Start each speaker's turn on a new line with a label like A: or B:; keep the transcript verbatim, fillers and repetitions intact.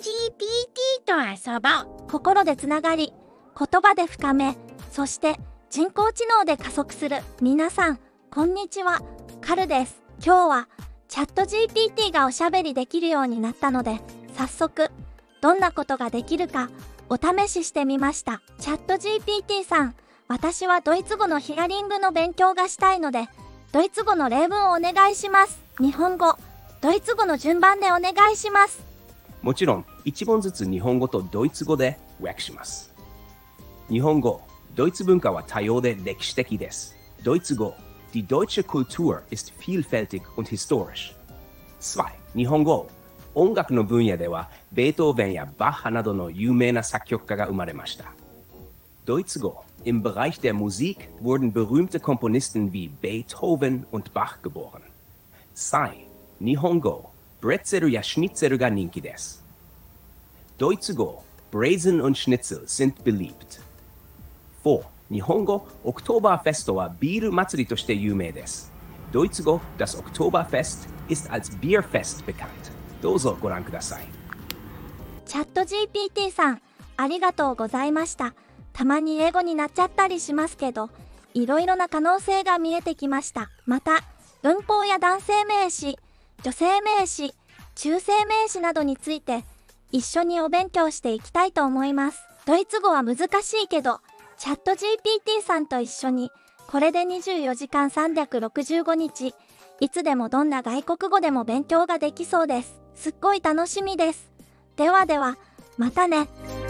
A: ジーピーティー と遊ぼう。
B: 心でつながり、言葉で深め、そして人工知能で加速する。皆さん、こんにちは。カルです。今日はチャット ジーピーティー がおしゃべりできるようになったので、早速、どんなことができるかお試ししてみました。チャット ジーピーティー さん、私はドイツ語のヒアリングの勉強がしたいので、ドイツ語の例文をお願いします。日本語、ドイツ語の順番でお願いします。
C: もちろん、一問ずつ日本語とドイツ語で和訳します。日本語、ドイツ文化は多様で歴史的です。ドイツ語、Die deutsche Kultur ist vielfältig und historisch. に. 日本語、音楽の分野では、ベートーベンやバッハなどの有名な作曲家が生まれました。ドイツ語、im Bereich der Musik wurden berühmte Komponisten wie Beethoven und Bach geboren. さん. 日本語、ブレッツェルやシュニッツェルが人気です。ドイツ語、Braisen und Schnitzel sind beliebt. よん. 日本語、オクトーバーフェストはビール祭りとして有名です。ドイツ語、das Oktoberfest ist als Bierfest bekannt. どうぞご覧ください。
B: チャット ジーピーティー さん、ありがとうございました。たまに英語になっちゃったりしますけど、いろいろな可能性が見えてきました。また、文法や男性名詞、女性名詞、中性名詞などについて一緒にお勉強していきたいと思います。ドイツ語は難しいけど、チャット ジーピーティー さんと一緒にこれでにじゅうよじかんさんびゃくろくじゅうごにち、いつでもどんな外国語でも勉強ができそうです。すっごい楽しみです。ではでは、またね。